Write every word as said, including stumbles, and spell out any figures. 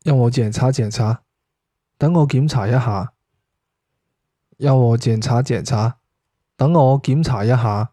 让我检查检查，等我檢查一下。讓我檢查檢查，等我檢查一下。